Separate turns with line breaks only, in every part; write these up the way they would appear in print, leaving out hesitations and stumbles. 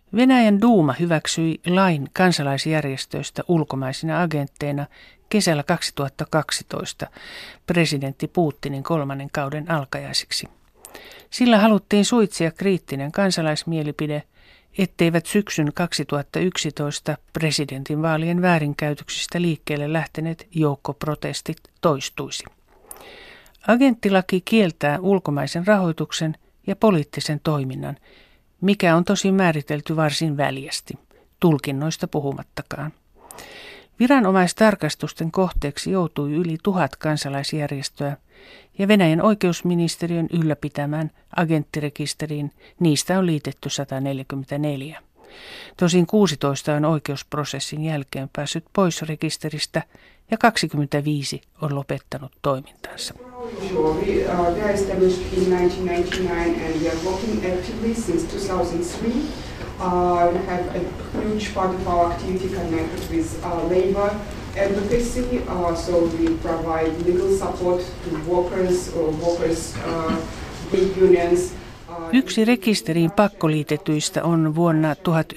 Venäjän duuma hyväksyi lain kansalaisjärjestöistä ulkomaisina agentteina kesällä 2012 presidentti Putinin 3. kauden alkajaisiksi. Sillä haluttiin suitsia kriittinen kansalaismielipide, etteivät syksyn 2011 presidentinvaalien väärinkäytöksistä liikkeelle lähteneet joukkoprotestit toistuisi. Agenttilaki kieltää ulkomaisen rahoituksen ja poliittisen toiminnan, mikä on tosin määritelty varsin väljästi, tulkinnoista puhumattakaan. Viranomaistarkastusten kohteeksi joutui yli 1000 kansalaisjärjestöä ja Venäjän oikeusministeriön ylläpitämään agenttirekisteriin niistä on liitetty 144. Tosin 16 on oikeusprosessin jälkeen päässyt pois rekisteristä ja 25 on lopettanut toimintansa.
We are established in 1999 and we are working actively since 2003. We have a huge part of our activity connected with labor advocacy, so we provide legal support to workers or big unions.
Yksi rekisteriin pakkoliitetyistä on vuonna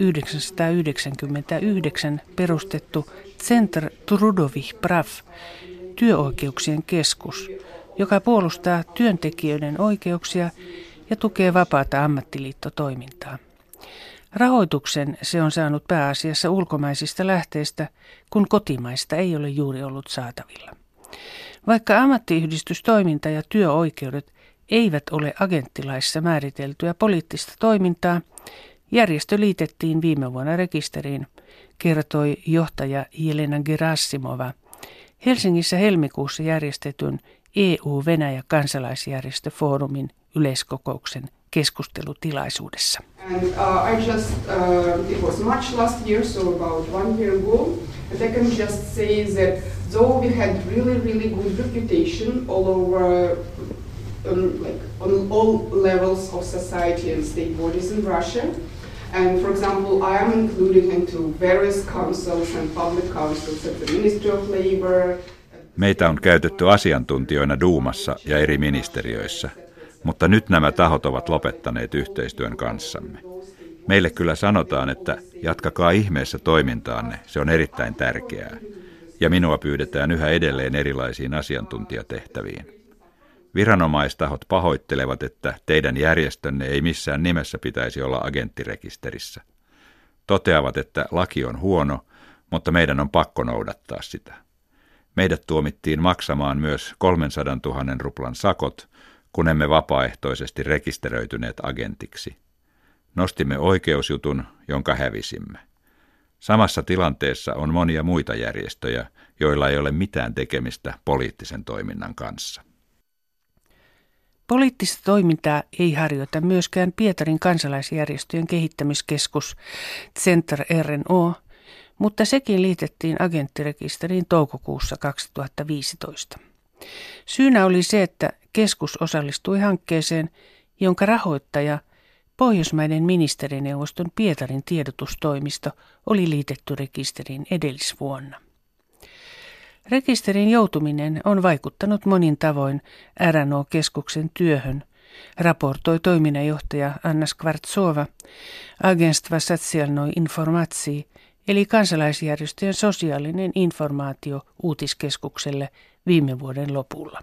1999 perustettu Centr Trudových Prav, työoikeuksien keskus, joka puolustaa työntekijöiden oikeuksia ja tukee vapaata ammattiliittotoimintaa. Rahoituksen se on saanut pääasiassa ulkomaisista lähteistä, kun kotimaista ei ole juuri ollut saatavilla. Vaikka ammattiyhdistystoiminta ja työoikeudet eivät ole agenttilaissa määriteltyä poliittista toimintaa, järjestö liitettiin viime vuonna rekisteriin, kertoi johtaja Jelena Gerasimova Helsingissä helmikuussa järjestetyn EU-Venäjä-kansalaisjärjestöfoorumin yleiskokouksen keskustelutilaisuudessa.
It was March last year, so about 1 year ago. And I can just say that though we had really good reputation all over, on all levels of society and state bodies in Russia, and for example, I am included into various councils and public councils at the Ministry of Labor.
Meitä on käytetty asiantuntijoina Duumassa ja eri ministeriöissä, mutta nyt nämä tahot ovat lopettaneet yhteistyön kanssamme. Meille kyllä sanotaan, että jatkakaa ihmeessä toimintaanne, se on erittäin tärkeää. Ja minua pyydetään yhä edelleen erilaisiin asiantuntijatehtäviin. Viranomaistahot pahoittelevat, että teidän järjestönne ei missään nimessä pitäisi olla agenttirekisterissä. Toteavat, että laki on huono, mutta meidän on pakko noudattaa sitä. Meidät tuomittiin maksamaan myös 300 000 ruplan sakot, kun emme vapaaehtoisesti rekisteröityneet agentiksi. Nostimme oikeusjutun, jonka hävisimme. Samassa tilanteessa on monia muita järjestöjä, joilla ei ole mitään tekemistä poliittisen toiminnan kanssa.
Poliittista toimintaa ei harjoita myöskään Pietarin kansalaisjärjestöjen kehittämiskeskus Centr RNO, mutta sekin liitettiin agenttirekisteriin toukokuussa 2015. Syynä oli se, että keskus osallistui hankkeeseen, jonka rahoittaja Pohjoismaiden ministerineuvoston Pietarin tiedotustoimisto oli liitetty rekisteriin edellisvuonna. Rekisterin joutuminen on vaikuttanut monin tavoin RNO-keskuksen työhön, raportoi toiminnanjohtaja Anna Skvartsova Agentstva Sosialnoj Informacji, eli kansalaisjärjestöjen sosiaalinen informaatio uutiskeskukselle viime vuoden lopulla.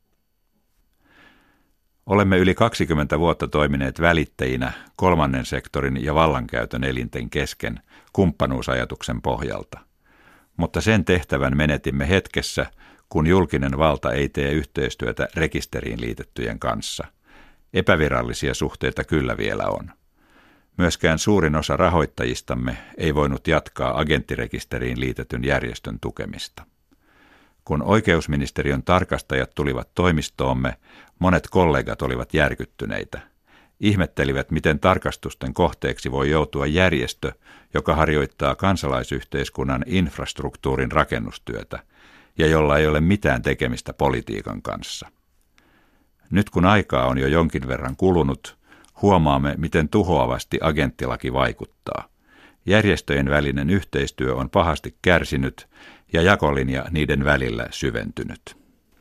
Olemme yli 20 vuotta toimineet välittäjinä kolmannen sektorin ja vallankäytön elinten kesken kumppanuusajatuksen pohjalta. Mutta sen tehtävän menetimme hetkessä, kun julkinen valta ei tee yhteistyötä rekisteriin liitettyjen kanssa. Epävirallisia suhteita kyllä vielä on. Myöskään suurin osa rahoittajistamme ei voinut jatkaa agenttirekisteriin liitetyn järjestön tukemista. Kun oikeusministeriön tarkastajat tulivat toimistoomme, monet kollegat olivat järkyttyneitä. Ihmettelivät, miten tarkastusten kohteeksi voi joutua järjestö, joka harjoittaa kansalaisyhteiskunnan infrastruktuurin rakennustyötä ja jolla ei ole mitään tekemistä politiikan kanssa. Nyt kun aikaa on jo jonkin verran kulunut, huomaamme, miten tuhoavasti agenttilaki vaikuttaa. Järjestöjen välinen yhteistyö on pahasti kärsinyt ja jakolinja niiden välillä syventynyt.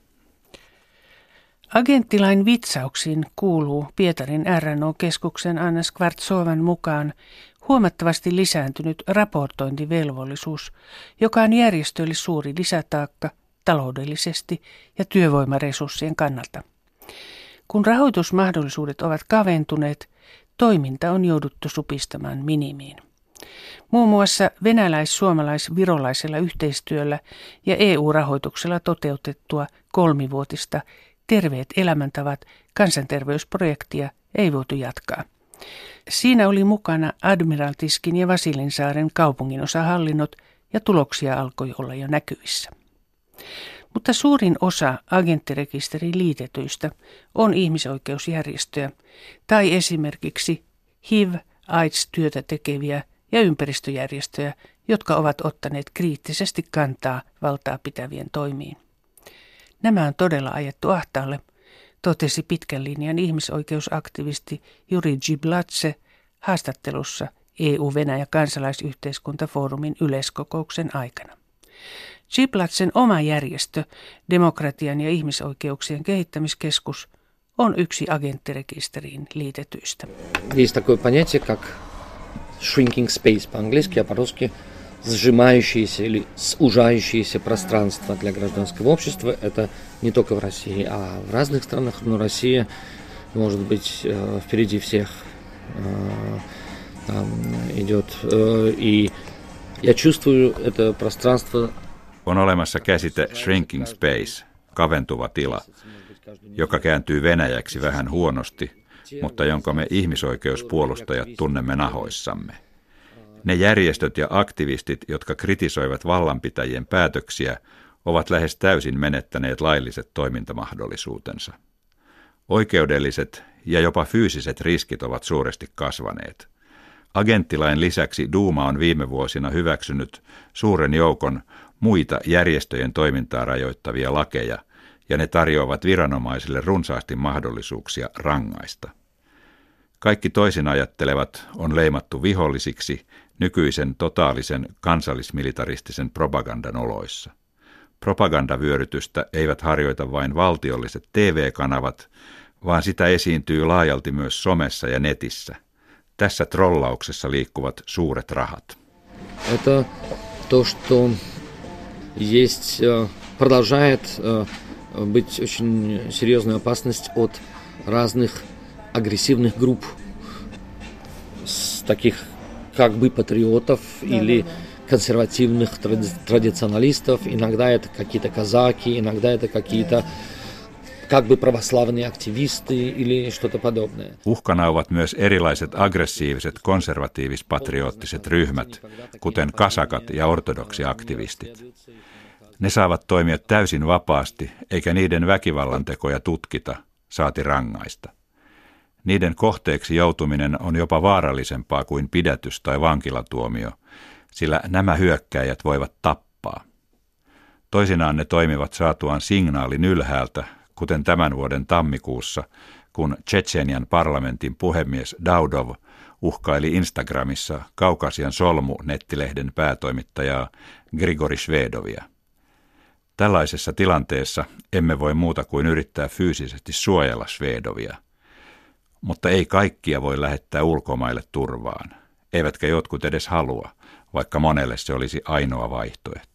Agenttilain vitsauksiin kuuluu Pietarin RNO-keskuksen Anna Skvartsovan mukaan huomattavasti lisääntynyt raportointivelvollisuus, joka on järjestöille suuri lisätaakka taloudellisesti ja työvoimaresurssien kannalta. Kun rahoitusmahdollisuudet ovat kaventuneet, toiminta on jouduttu supistamaan minimiin. Muun muassa venäläis-suomalais-virolaisella yhteistyöllä ja EU-rahoituksella toteutettua 3-vuotista Terveet elämäntavat kansanterveysprojektia ei voitu jatkaa. Siinä oli mukana Admiraltiskin ja Vasilinsaaren kaupunginosahallinnot ja tuloksia alkoi olla jo näkyvissä. Mutta suurin osa agenttirekisteriin liitetyistä on ihmisoikeusjärjestöjä tai esimerkiksi HIV-AIDS-työtä tekeviä ja ympäristöjärjestöjä, jotka ovat ottaneet kriittisesti kantaa valtaa pitävien toimiin. Nämä on todella ajettu ahtaalle, totesi pitkän linjan ihmisoikeusaktivisti Juri Giblatse haastattelussa EU-Venäjä-kansalaisyhteiskuntafoorumin yleiskokouksen aikana. Giblatsen oma järjestö, Demokratian ja ihmisoikeuksien kehittämiskeskus, on yksi agenttirekisteriin liitetyistä.
Есть такое понятие, как shrinking space по-английски, а по-русски сжимающееся или сужающееся пространство для гражданского общества. Это не только в России, а в разных странах. Но Россия может быть впереди всех идет. И я чувствую это пространство.
On olemassa käsite shrinking space, kaventuva tila, joka kääntyy venäjäksi vähän huonosti, mutta jonka me ihmisoikeuspuolustajat tunnemme nahoissamme. Ne järjestöt ja aktivistit, jotka kritisoivat vallanpitäjien päätöksiä, ovat lähes täysin menettäneet lailliset toimintamahdollisuutensa. Oikeudelliset ja jopa fyysiset riskit ovat suuresti kasvaneet. Agenttilain lisäksi Duuma on viime vuosina hyväksynyt suuren joukon muita järjestöjen toimintaa rajoittavia lakeja, ja ne tarjoavat viranomaisille runsaasti mahdollisuuksia rangaista. Kaikki toisin ajattelevat on leimattu vihollisiksi nykyisen totaalisen kansallismilitaristisen propagandan oloissa. Propagandavyörytystä eivät harjoita vain valtiolliset TV-kanavat, vaan sitä esiintyy laajalti myös somessa ja netissä. Tässä trollauksessa liikkuvat suuret rahat.
Это то, что есть, продолжает быть очень серьезная опасность от разных агрессивных групп, таких как бы патриотов или консервативных традиционалистов. Иногда это какие-то казаки, иногда это какие-то как бы православные активисты или что-то подобное.
Uhkana ovat myös erilaiset aggressiiviset konservatiivis-patriottiset ryhmät, kuten kasakat ja ortodoksiaktivistit. Ne saavat toimia täysin vapaasti, eikä niiden väkivallantekoja tutkita, saati rangaista. Niiden kohteeksi joutuminen on jopa vaarallisempaa kuin pidätys tai vankilatuomio, sillä nämä hyökkääjät voivat tappaa. Toisinaan ne toimivat saatuaan signaalin ylhäältä, kuten tämän vuoden tammikuussa, kun Tšetšenian parlamentin puhemies Daudov uhkaili Instagramissa Kaukasian solmu-nettilehden päätoimittajaa Grigori Švedovia. Tällaisessa tilanteessa emme voi muuta kuin yrittää fyysisesti suojella Švedovia. Mutta ei kaikkia voi lähettää ulkomaille turvaan, eivätkä jotkut edes halua, vaikka monelle se olisi ainoa vaihtoehto.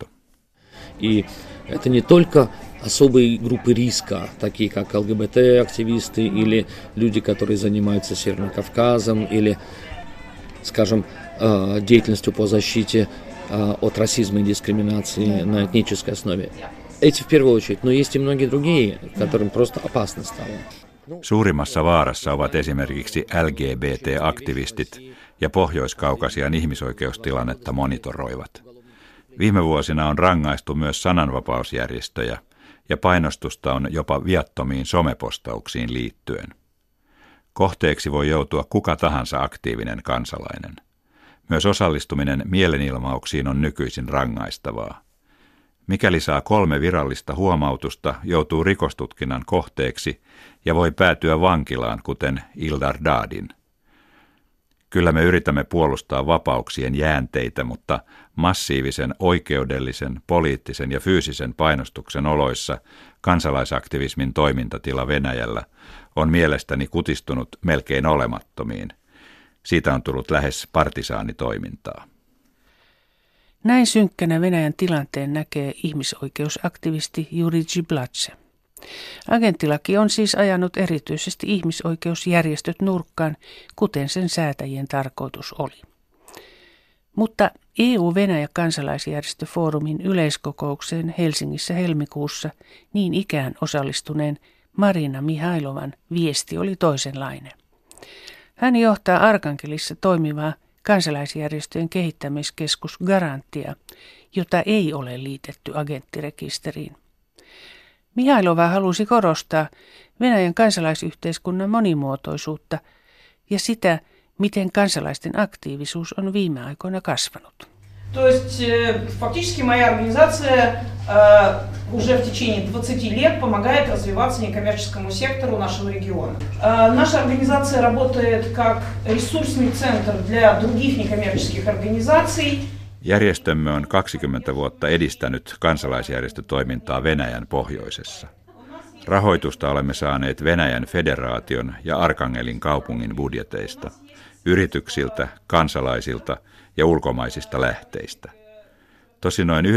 И это не только особые группы риска, такие как ЛГБТ-активисты или люди, которые занимаются Северным Кавказом, или, скажем, деятельностью по защите от расизма и дискриминации на этнической основе. Эти в первую очередь, но есть и многие другие, которым просто опасно стало.
Suurimmassa vaarassa ovat esimerkiksi LGBT-aktivistit ja Pohjois-Kaukasian ihmisoikeustilannetta monitoroivat. Viime vuosina on rangaistu myös sananvapausjärjestöjä ja painostusta on jopa viattomiin somepostauksiin liittyen. Kohteeksi voi joutua kuka tahansa aktiivinen kansalainen. Myös osallistuminen mielenilmauksiin on nykyisin rangaistavaa. Mikäli saa 3 virallista huomautusta, joutuu rikostutkinnan kohteeksi ja voi päätyä vankilaan, kuten Ildar Dadin. Kyllä me yritämme puolustaa vapauksien jäänteitä, mutta massiivisen oikeudellisen, poliittisen ja fyysisen painostuksen oloissa kansalaisaktivismin toimintatila Venäjällä on mielestäni kutistunut melkein olemattomiin. Siitä on tullut lähes partisaanitoimintaa.
Näin synkkänä Venäjän tilanteen näkee ihmisoikeusaktivisti Jurij Blatse. Agenttilaki on siis ajanut erityisesti ihmisoikeusjärjestöt nurkkaan, kuten sen säätäjien tarkoitus oli. Mutta EU-Venäjä-kansalaisjärjestöfoorumin yleiskokoukseen Helsingissä helmikuussa niin ikään osallistuneen Marina Mihailovan viesti oli toisenlainen. Hän johtaa Arkangelissa toimivaa kansalaisjärjestöjen kehittämiskeskus Garantia, jota ei ole liitetty agenttirekisteriin. Mihailova halusi korostaa Venäjän kansalaisyhteiskunnan monimuotoisuutta ja sitä, miten kansalaisten aktiivisuus on viime aikoina kasvanut.
То есть фактически моя организация уже в течение 20 лет помогает развиваться некоммерческому сектору нашего региона. Наша организация работает как ресурсный центр для других некоммерческих организаций.
Järjestömme on 20 vuotta edistänyt kansalaisjärjestötoimintaa Venäjän pohjoisessa. Rahoitusta olemme saaneet Venäjän federaation ja Arkangelin kaupungin budjeteista, yrityksiltä, kansalaisilta ja ulkomaisista lähteistä. Tosin noin 90%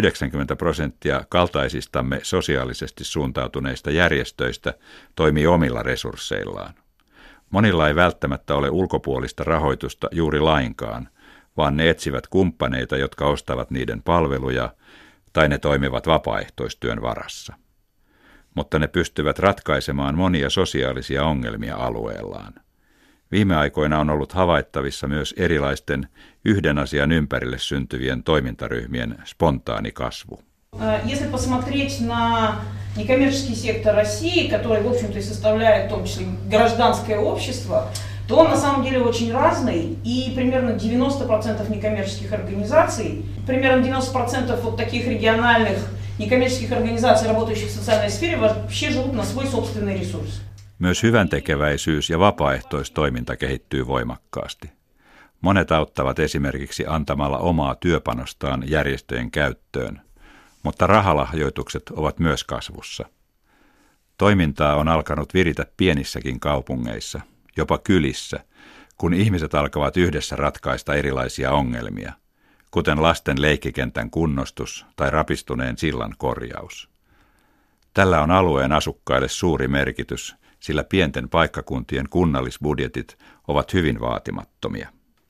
kaltaisistamme sosiaalisesti suuntautuneista järjestöistä toimii omilla resursseillaan. Monilla ei välttämättä ole ulkopuolista rahoitusta juuri lainkaan, vaan ne etsivät kumppaneita, jotka ostavat niiden palveluja, tai ne toimivat vapaaehtoistyön varassa. Mutta ne pystyvät ratkaisemaan monia sosiaalisia ongelmia alueellaan. Viime aikoina on ollut havaittavissa myös erilaisten yhden asian ympärille syntyvien toimintaryhmien spontaani kasvu.
Если посмотреть на некоммерческий сектор России, который, в общем-то, и составляет в том числе гражданское общество, то он на самом деле очень разный, и примерно 90% некоммерческих организаций, примерно 90% вот таких региональных некоммерческих организаций, работающих в социальной сфере, вообще живут на свой собственный ресурс.
Myös hyväntekeväisyys ja vapaaehtoistoiminta kehittyy voimakkaasti. Monet auttavat esimerkiksi antamalla omaa työpanostaan järjestöjen käyttöön, mutta rahalahjoitukset ovat myös kasvussa. Toimintaa on alkanut viritä pienissäkin kaupungeissa, jopa kylissä, kun ihmiset alkavat yhdessä ratkaista erilaisia ongelmia, kuten lasten leikkikentän kunnostus tai rapistuneen sillan korjaus. Tällä on alueen asukkaille suuri merkitys, sillä pienten paikkakuntien kunnallisbudjetit ovat hyvin vaatimattomia.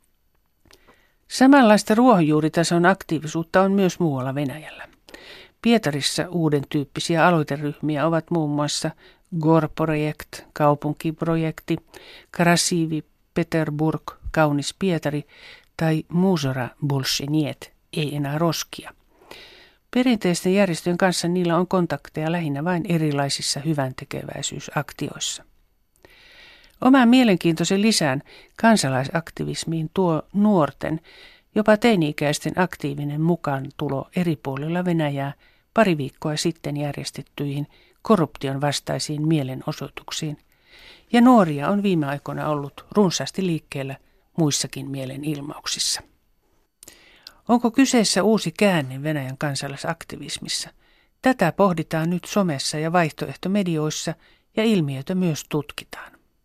Samanlaista ruohonjuuritason aktiivisuutta on myös muualla Venäjällä. Pietarissa uuden tyyppisiä aloiteryhmiä ovat muun muassa Gorprojekt, kaupunkiprojekti, Krasivi Peterburg, kaunis Pietari tai Muzora Bolsheniet, ei enää roskia. Perinteisten järjestöjen kanssa niillä on kontakteja lähinnä vain erilaisissa hyväntekeväisyysaktioissa. Oman mielenkiintoisen lisään kansalaisaktivismiin tuo nuorten, jopa teini-ikäisten aktiivinen mukaantulo eri puolilla Venäjää pari viikkoa sitten järjestettyihin korruption vastaisiin mielenosoituksiin, ja nuoria on viime aikoina ollut runsaasti liikkeellä muissakin mielenilmauksissa. Onko kyseessä uusi käänne Venäjän kansalaisaktivismissa? Tätä pohditaan nyt somessa ja vaihtoehtomedioissa ja ilmiötä myös tutkitaan.